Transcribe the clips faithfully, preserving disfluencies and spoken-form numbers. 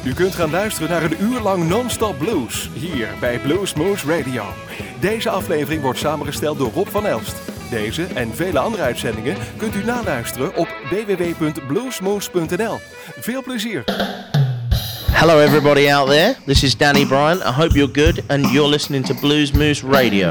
U kunt gaan luisteren naar een uur lang non-stop blues, hier bij Bluesmoose Radio. Deze aflevering wordt samengesteld door Rob van Elst. Deze en vele andere uitzendingen kunt u naluisteren op w w w punt bluesmoose punt n l. Veel plezier! Hello everybody out there, this is Danny Bryan. I hope you're good and you're listening to Bluesmoose Radio.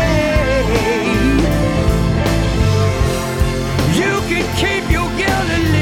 You can keep your guilty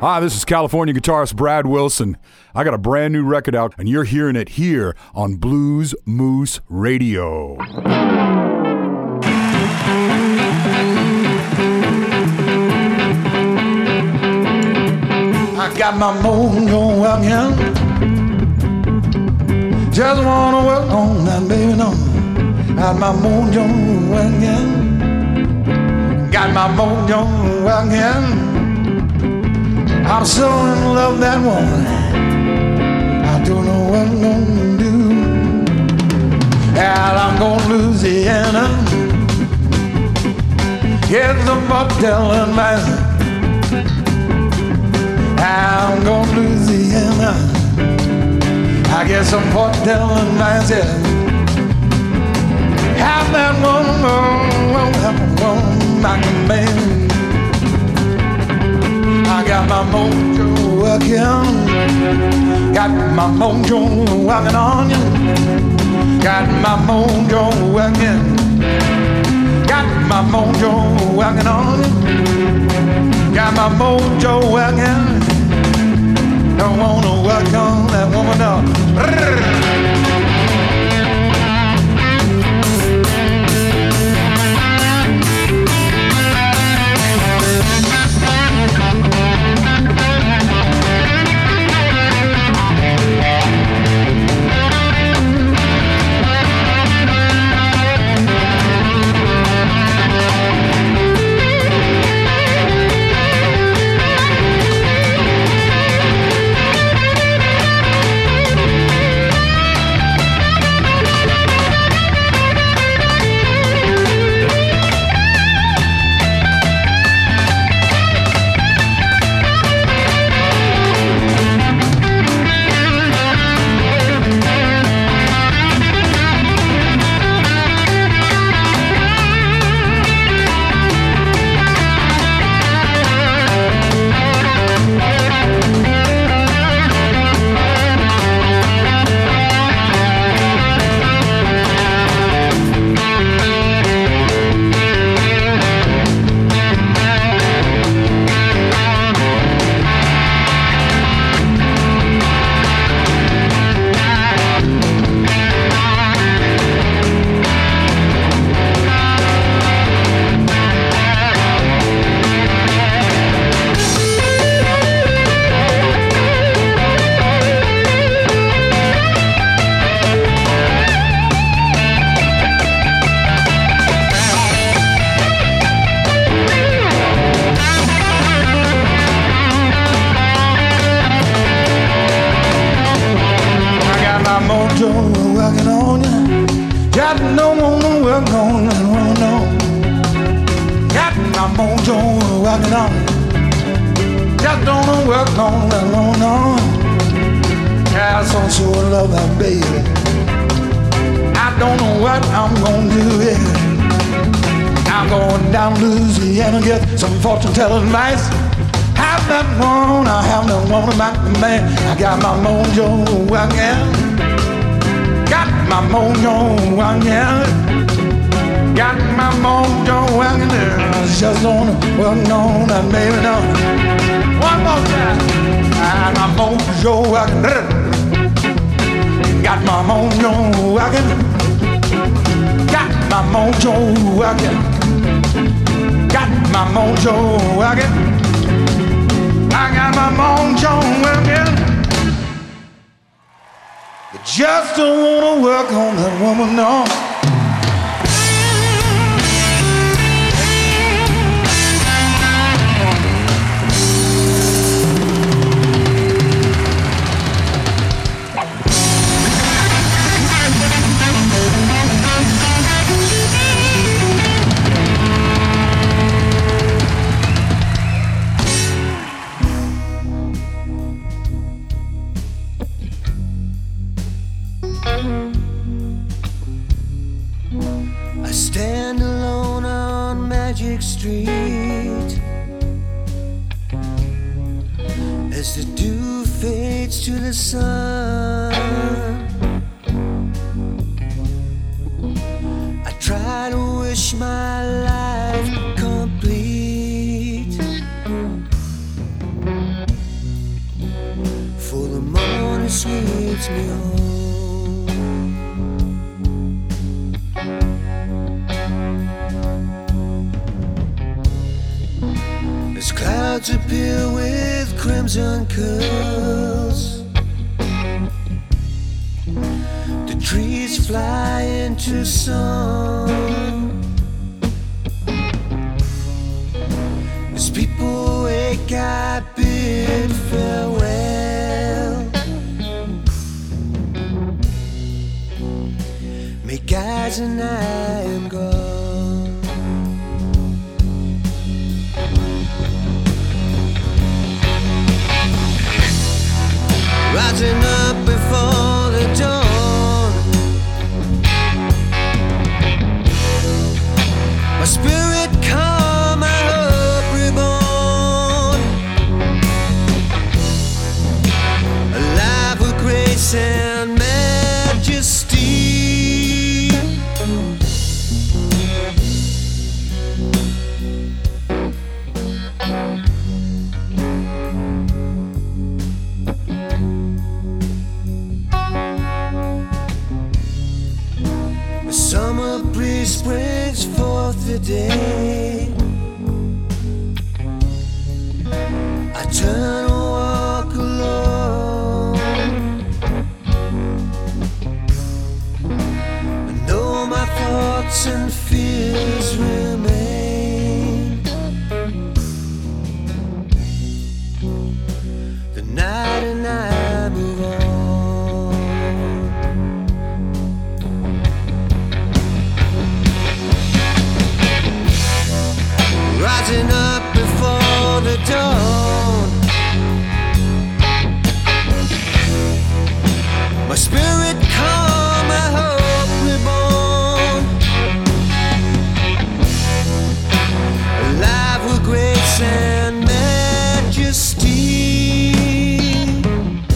Hi, this is California guitarist Brad Wilson. I got a brand new record out, and you're hearing it here on Blues Moose Radio. I got my mojo again. Just wanna work on that, baby, no. Got my mojo again. Got my mojo again. I'm so in love that woman. I don't know what I'm gonna do. And I'm going to Louisiana. Get the motel and man. I'm going to Louisiana. I get some hotel and man. Have that woman, have that woman, my man. I got my mojo working, got my mojo working on you, got my mojo working, got my mojo working on you, got my mojo working. Don't wanna work on that woman, no. Telling lies, have that one, I have that one about the man. I got my mojo again, got my mojo again, got my mojo again. Just gonna work on that baby now. One more time, got my mojo again, got my mojo again, got my mojo again. Got my mojo working. I got my mojo working. You just don't wanna work on that woman, no. Street as the dew fades to the sun. I try to wish my life complete. sweeps me home. As clouds appear with crimson curls, the trees fly into song. As people wake, I bid farewell. Make eyes and I am gone. Rising up before the dawn, my spirit calm, my hope reborn, alive with grace and majesty. The summer breeze brings forth the day. I turn and walk alone. I know my thoughts and fears remain. The night and I move on. Rising up before the dawn, my spirit calm, my hope reborn, alive with grace and majesty.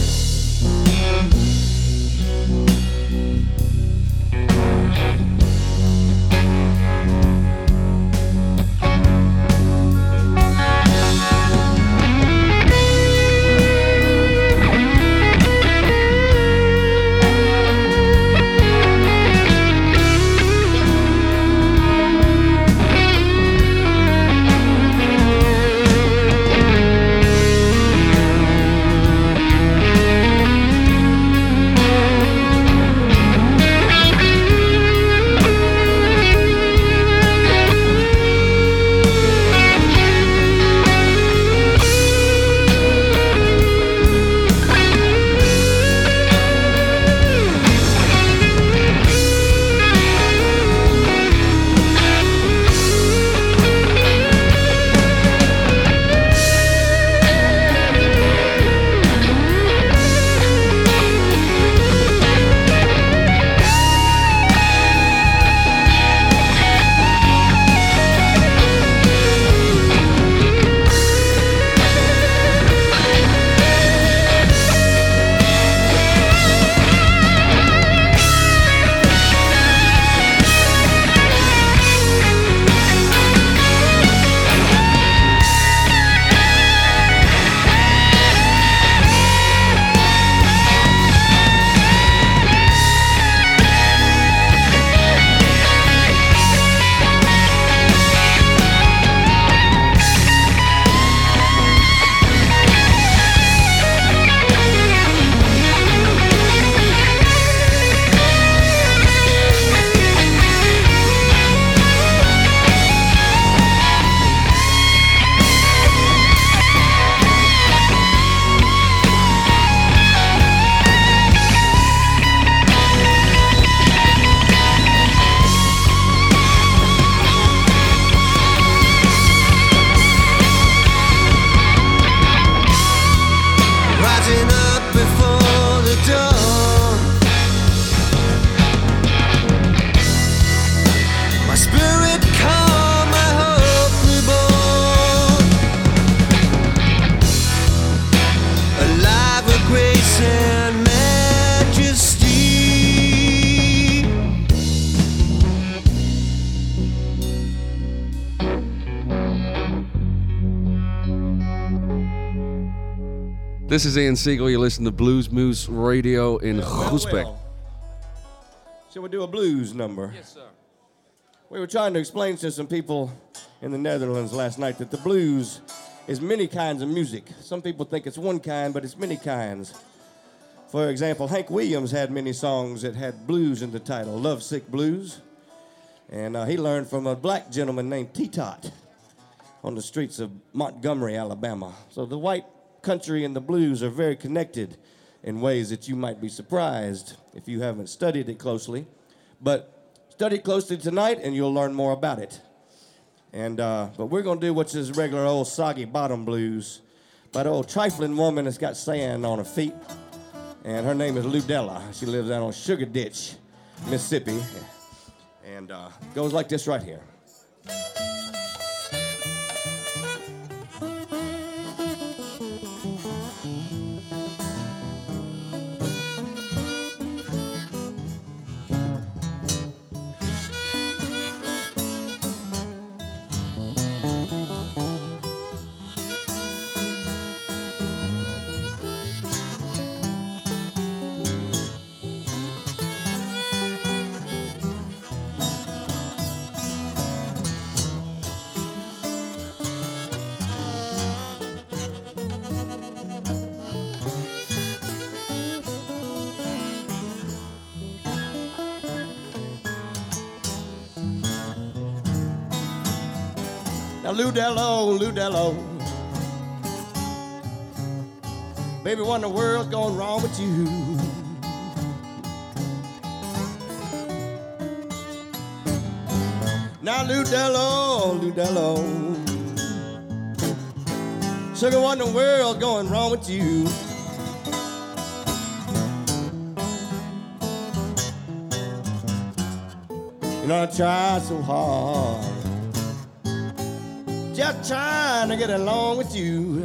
This is Ian Siegel. You listen to Blues Moose Radio in Well, well, Groesbeek. well. Shall we do a blues number? Yes, sir. We were trying to explain to some people in the Netherlands last night that the blues is many kinds of music. Some people think it's one kind, but it's many kinds. For example, Hank Williams had many songs that had blues in the title, Lovesick Blues. And uh, he learned from a black gentleman named T-Tot on the streets of Montgomery, Alabama. So the white country and the blues are very connected in ways that you might be surprised if you haven't studied it closely. But study it closely tonight and you'll learn more about it. And uh, but we're gonna do what's this regular old soggy bottom blues by the old trifling woman that's got sand on her feet. And her name is Ludella. She lives out on Sugar Ditch, Mississippi. And uh, goes like this right here. Now, Ludello, Ludello, baby, what in the world's going wrong with you? Now, Ludello, Ludello, sugar, what in the world's going wrong with you? You know, I tried so hard, just trying to get along with you.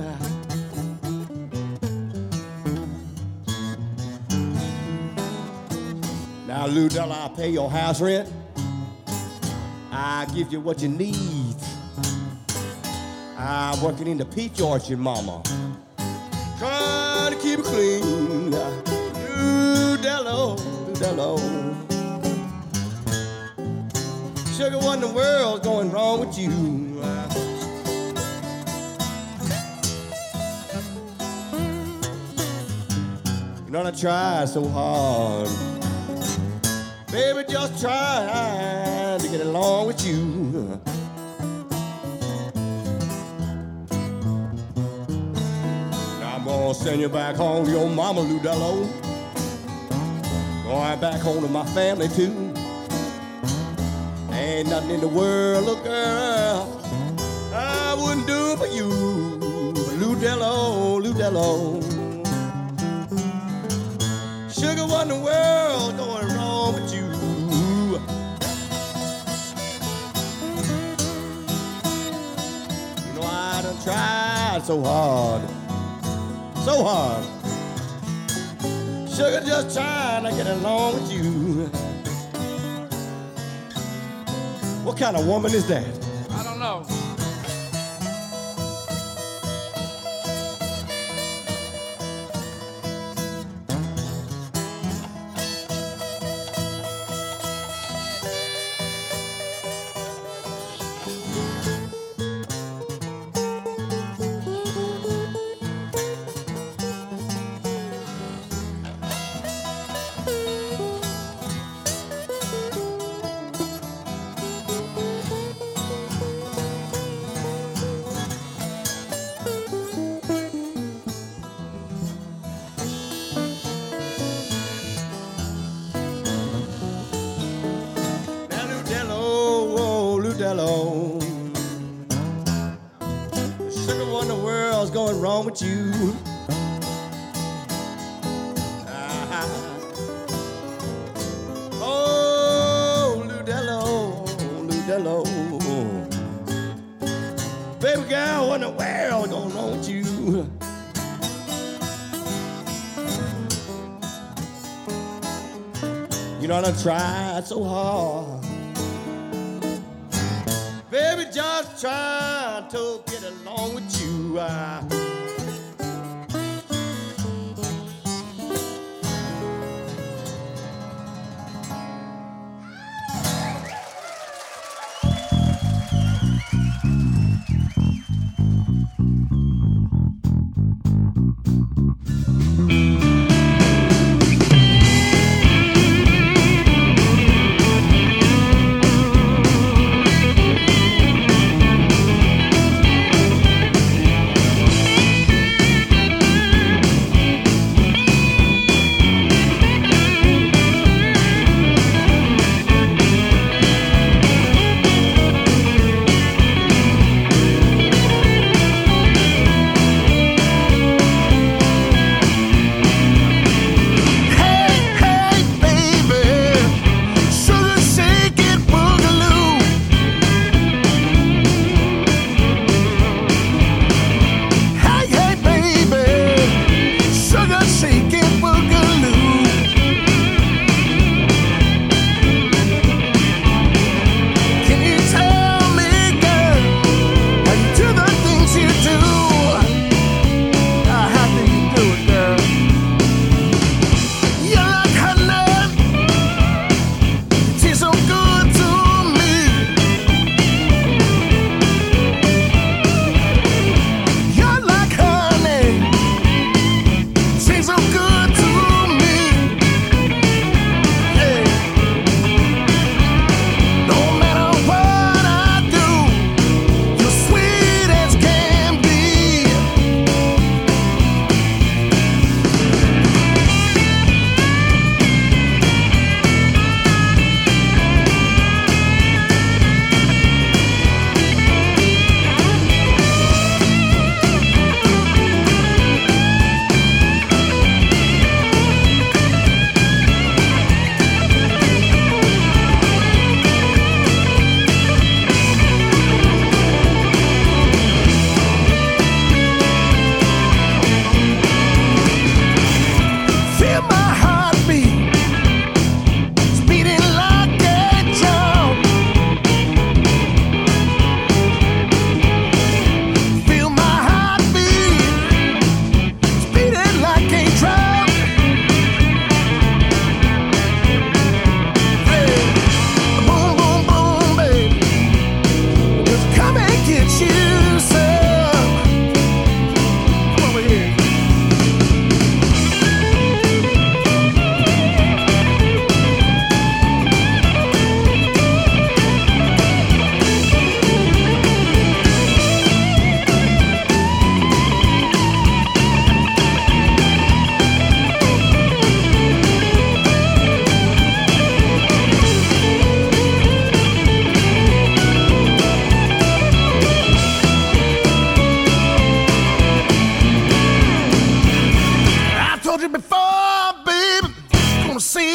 Now, Ludella, I'll pay your house rent. I give you what you need. I'm working in the peach orchard, mama, trying to keep it clean. Ludello, Ludello, sugar, what in the world's going wrong with you? You know, I try so hard, baby, just trying to get along with you. Now I'm gonna send you back home to your mama, Ludello. Going back home to my family too. Ain't nothing in the world, look, girl, I wouldn't do for you. Ludello, Ludello, sugar, what in the world going wrong with you? You know, I done tried so hard, so hard, sugar, just trying to get along with you. What kind of woman is that? I don't know. Ludello, sugar, what in the world's going wrong with you? Ah. Oh, Ludello, Ludello, baby girl, what in the world going wrong with you? You know, I done tried so hard, baby, just trying to get along with you. Uh,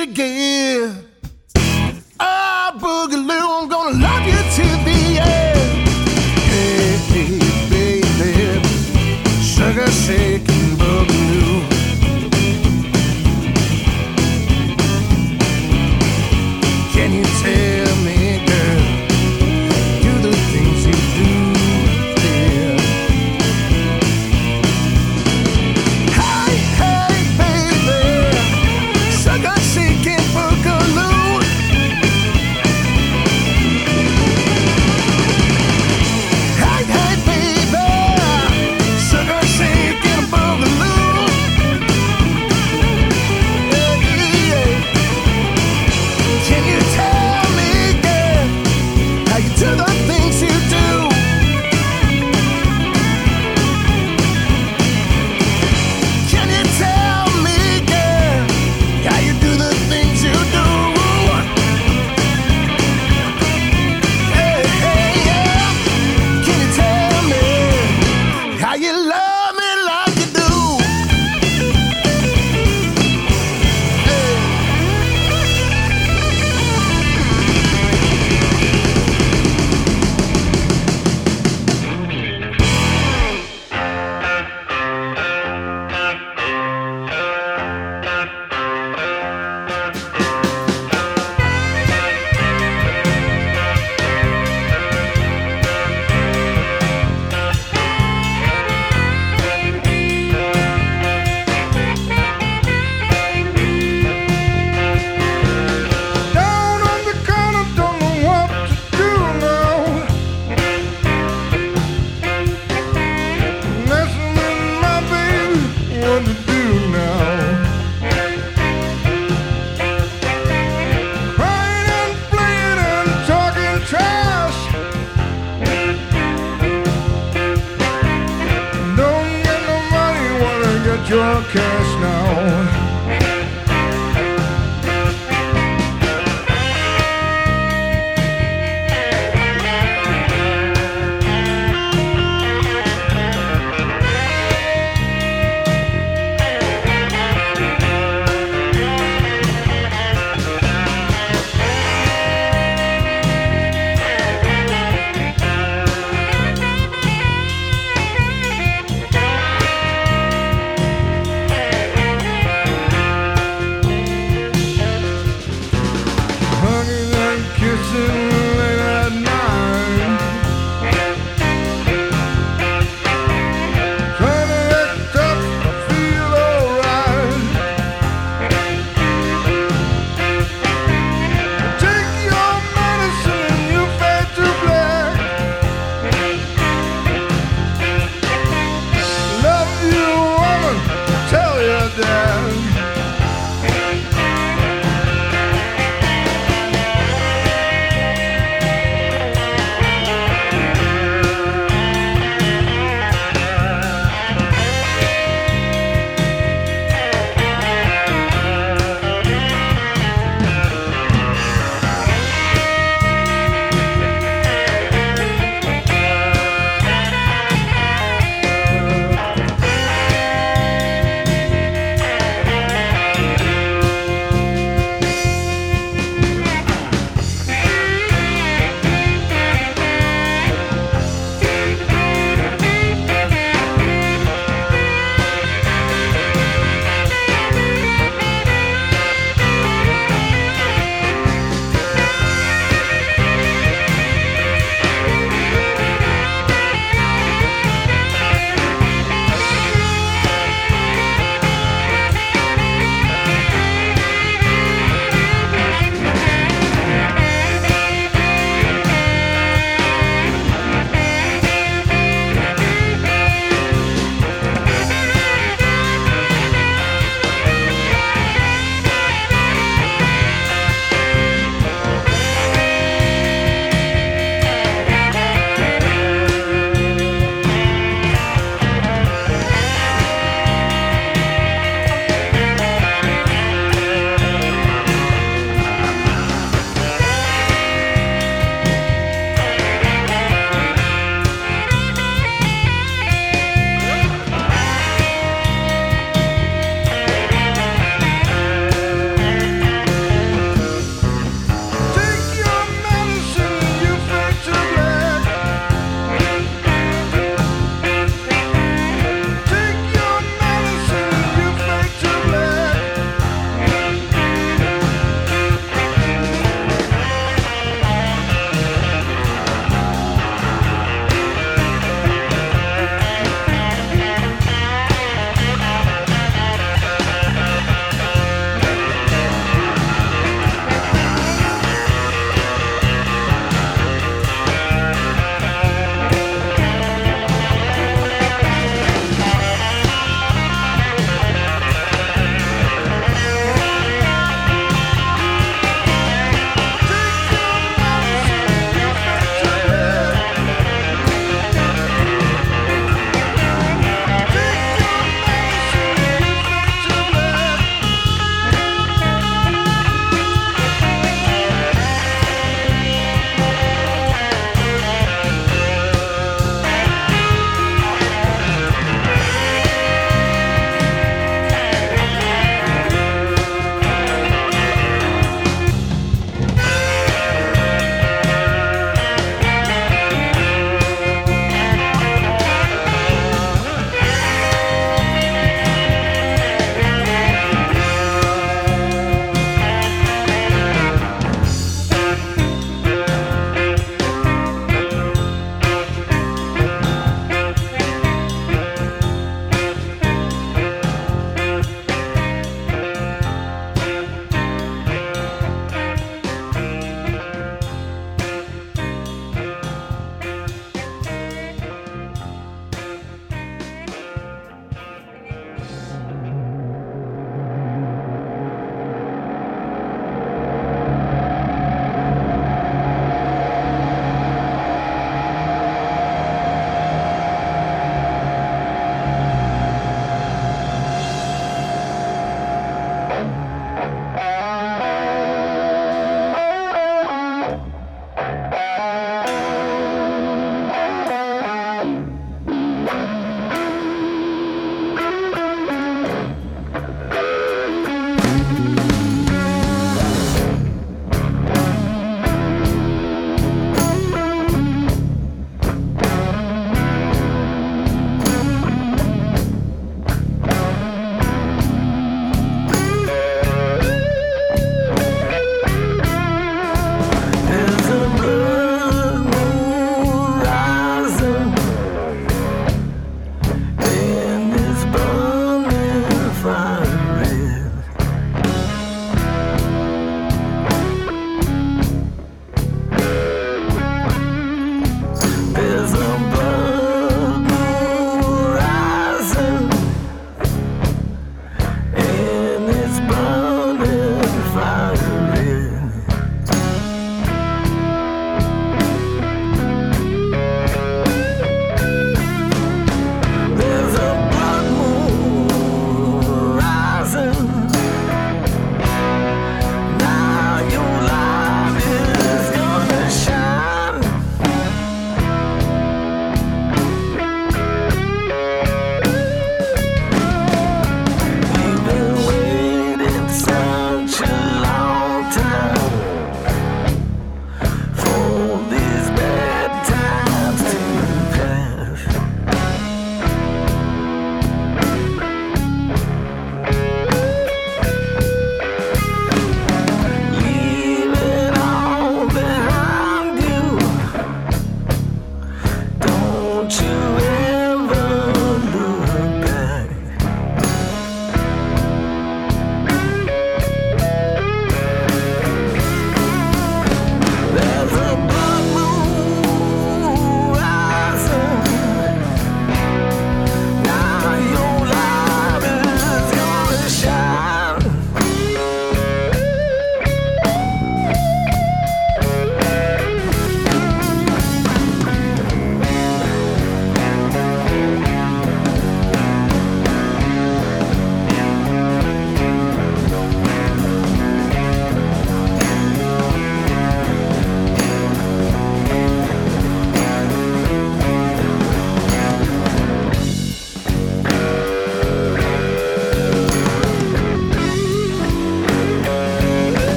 it again. Ah, Boogaloo, I'm gonna love you to the end. Hey, hey, baby, sugar shaking Boogaloo. Can you tell me, girl, do the things you do, yeah. Hey, hey, baby, sugar shaking Boogaloo. Hey, hey, baby, sugar shaking Boogaloo. Yeah, yeah. Can you tell me, girl, how you do the things you do? Can you tell me, girl, how you do the things you do? Hey, hey, yeah. Can you tell me how you love me like you do? Hey. Down on the corner, don't know what to do now. Messing with my baby, what to do now? Crying and playing and talking trash. Don't get no money, wanna get your cash now.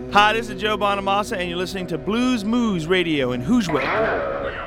Hi, this is Joe Bonamassa, and you're listening to Blues Moose Radio in Hooswell.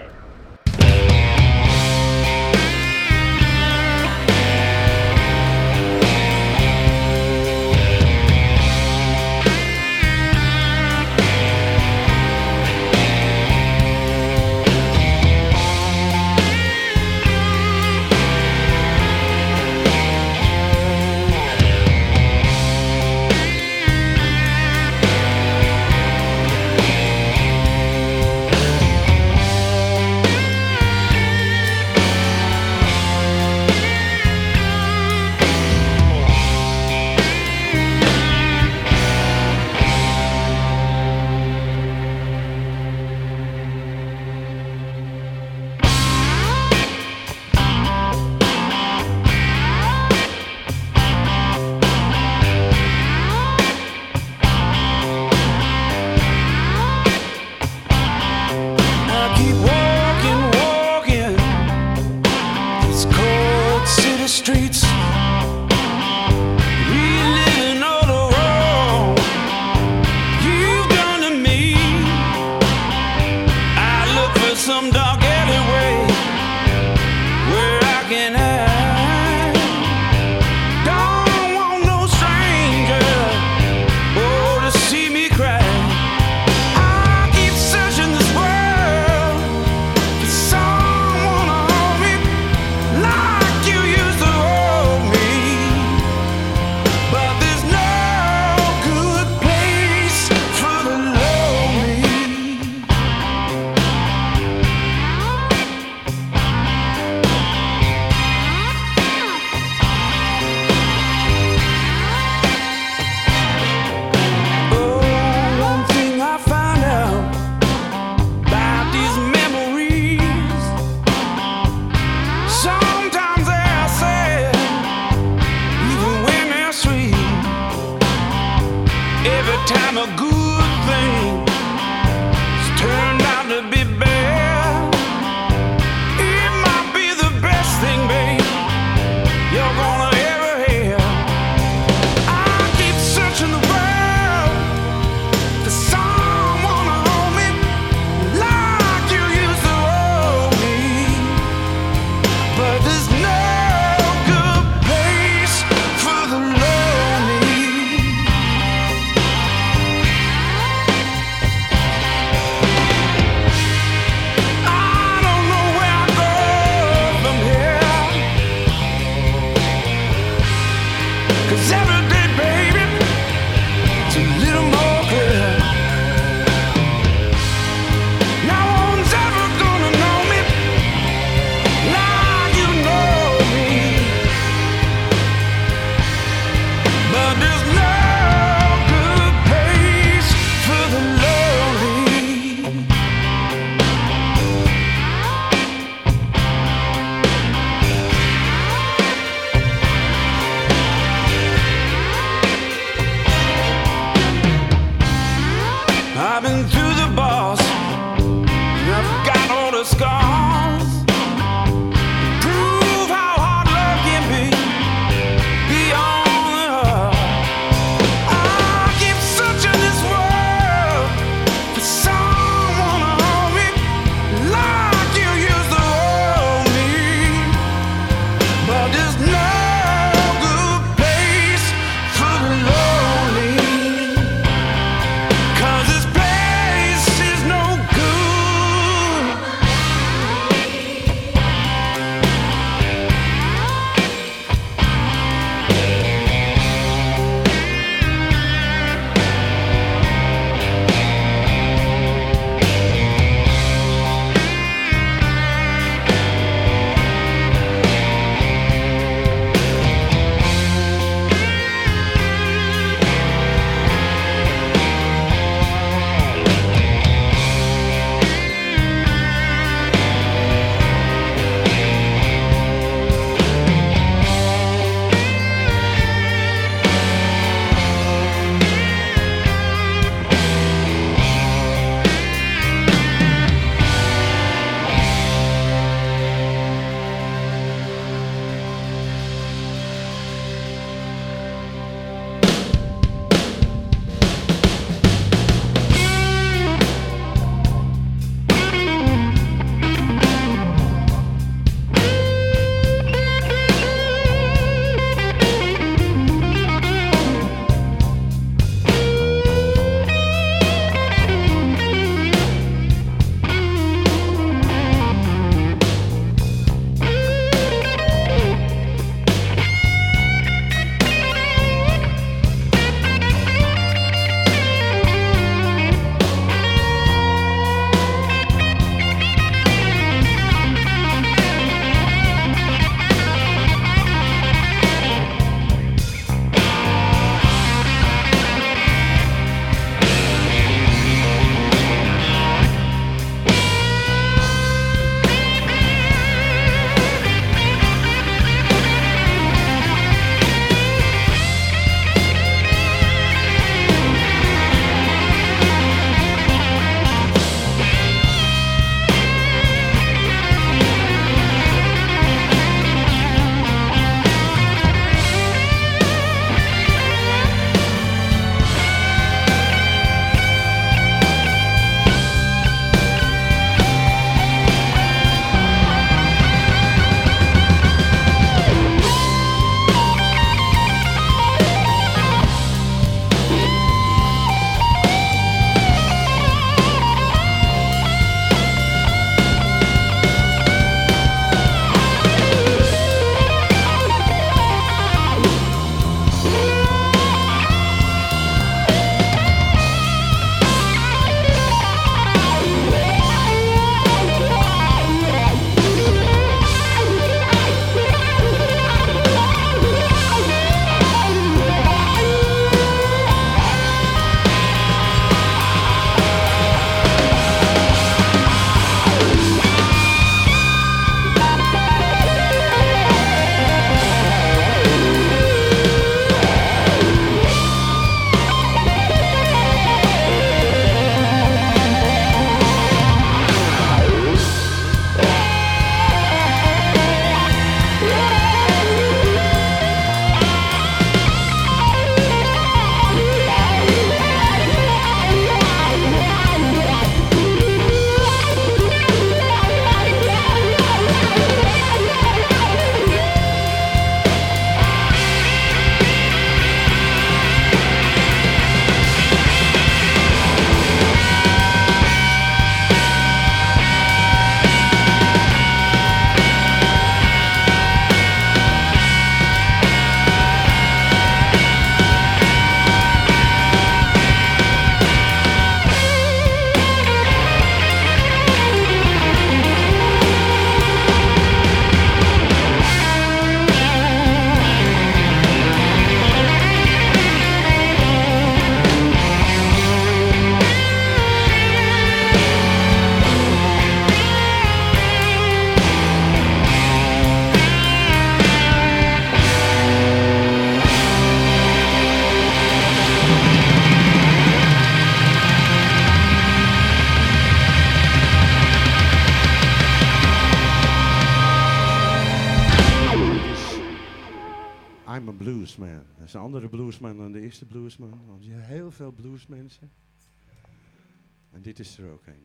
I'm a bluesman. Dat is een andere bluesman dan de eerste bluesman. Want je hebt heel veel bluesmensen. En dit is er ook een.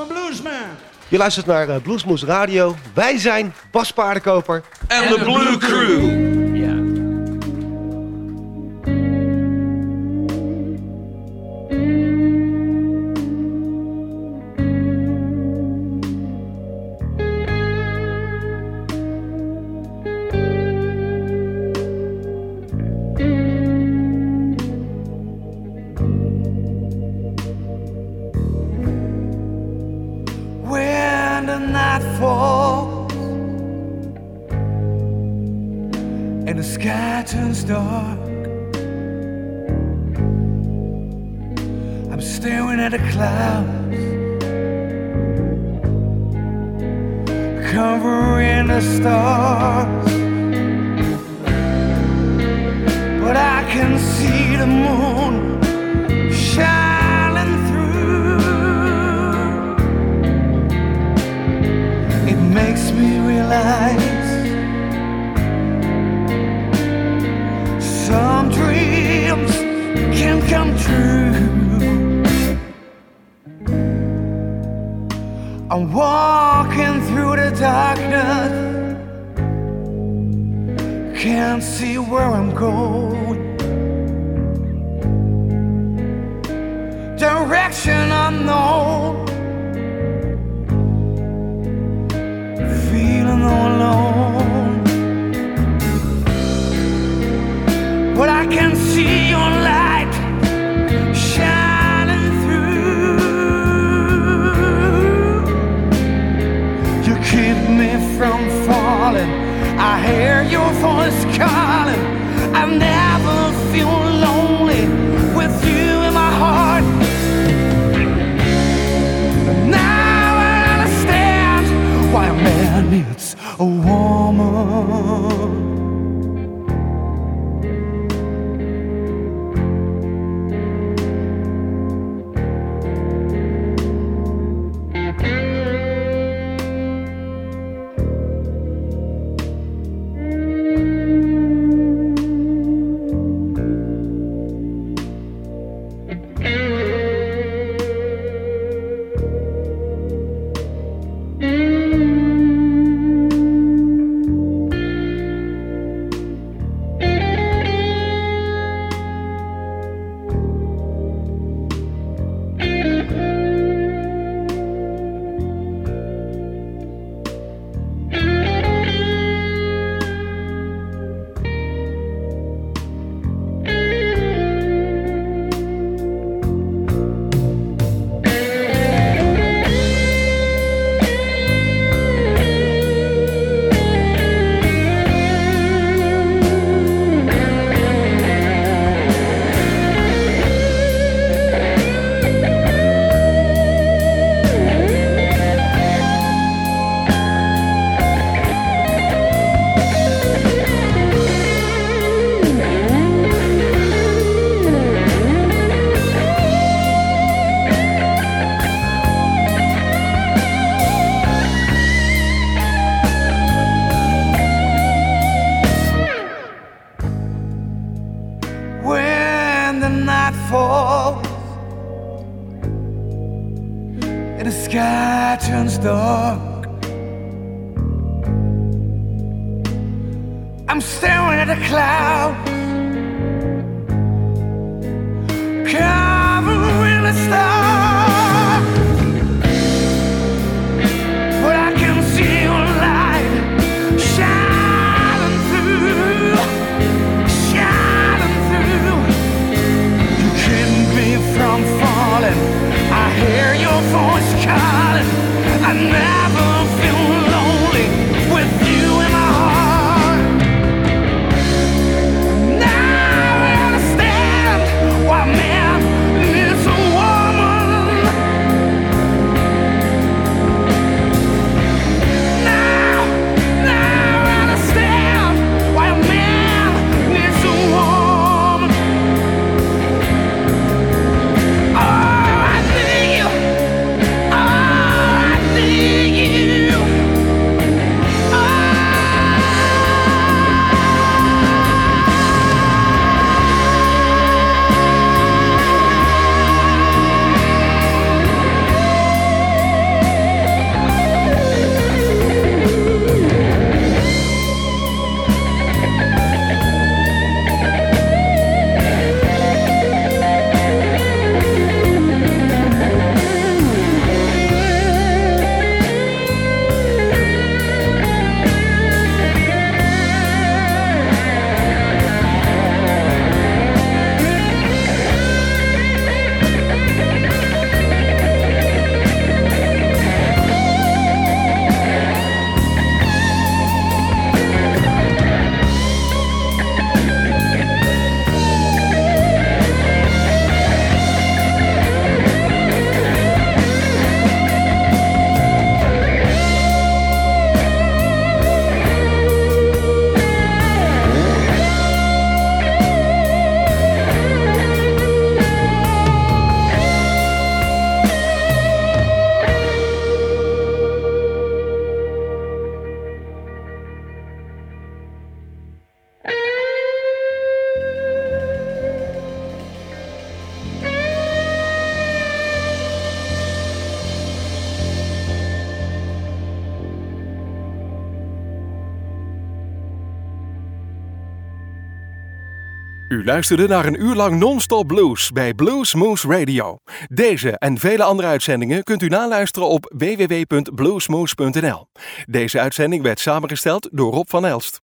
a bluesman. Je luistert naar uh, Bluesmoose Radio. Wij zijn Bas Paardenkoper. En de Blue Crew. Turns dark. I'm staring at the clouds, covering the stars, but I can see the moon shining through. It makes me realize some dreams can come true. I'm walking through the darkness, can't see where I'm going. Direction unknown, feeling all alone. But I can see your light shining through. You keep me from falling. I hear your voice calling. I never feel lonely with you in my heart. Now I understand why a man needs a woman. I'm staring at the clouds, covering the stars, but I can see your light shining through, shining through. You keep me from falling. I hear your voice calling. I never feel lonely with you in my heart. Now I understand why man needs a woman. Now, now I understand why a man needs a woman. Oh, I need you. Oh, I need you. U luisterde naar een uur lang non-stop blues bij Blues Moose Radio. Deze en vele andere uitzendingen kunt u naluisteren op w w w punt bluesmoose punt n l. Deze uitzending werd samengesteld door Rob van Elst.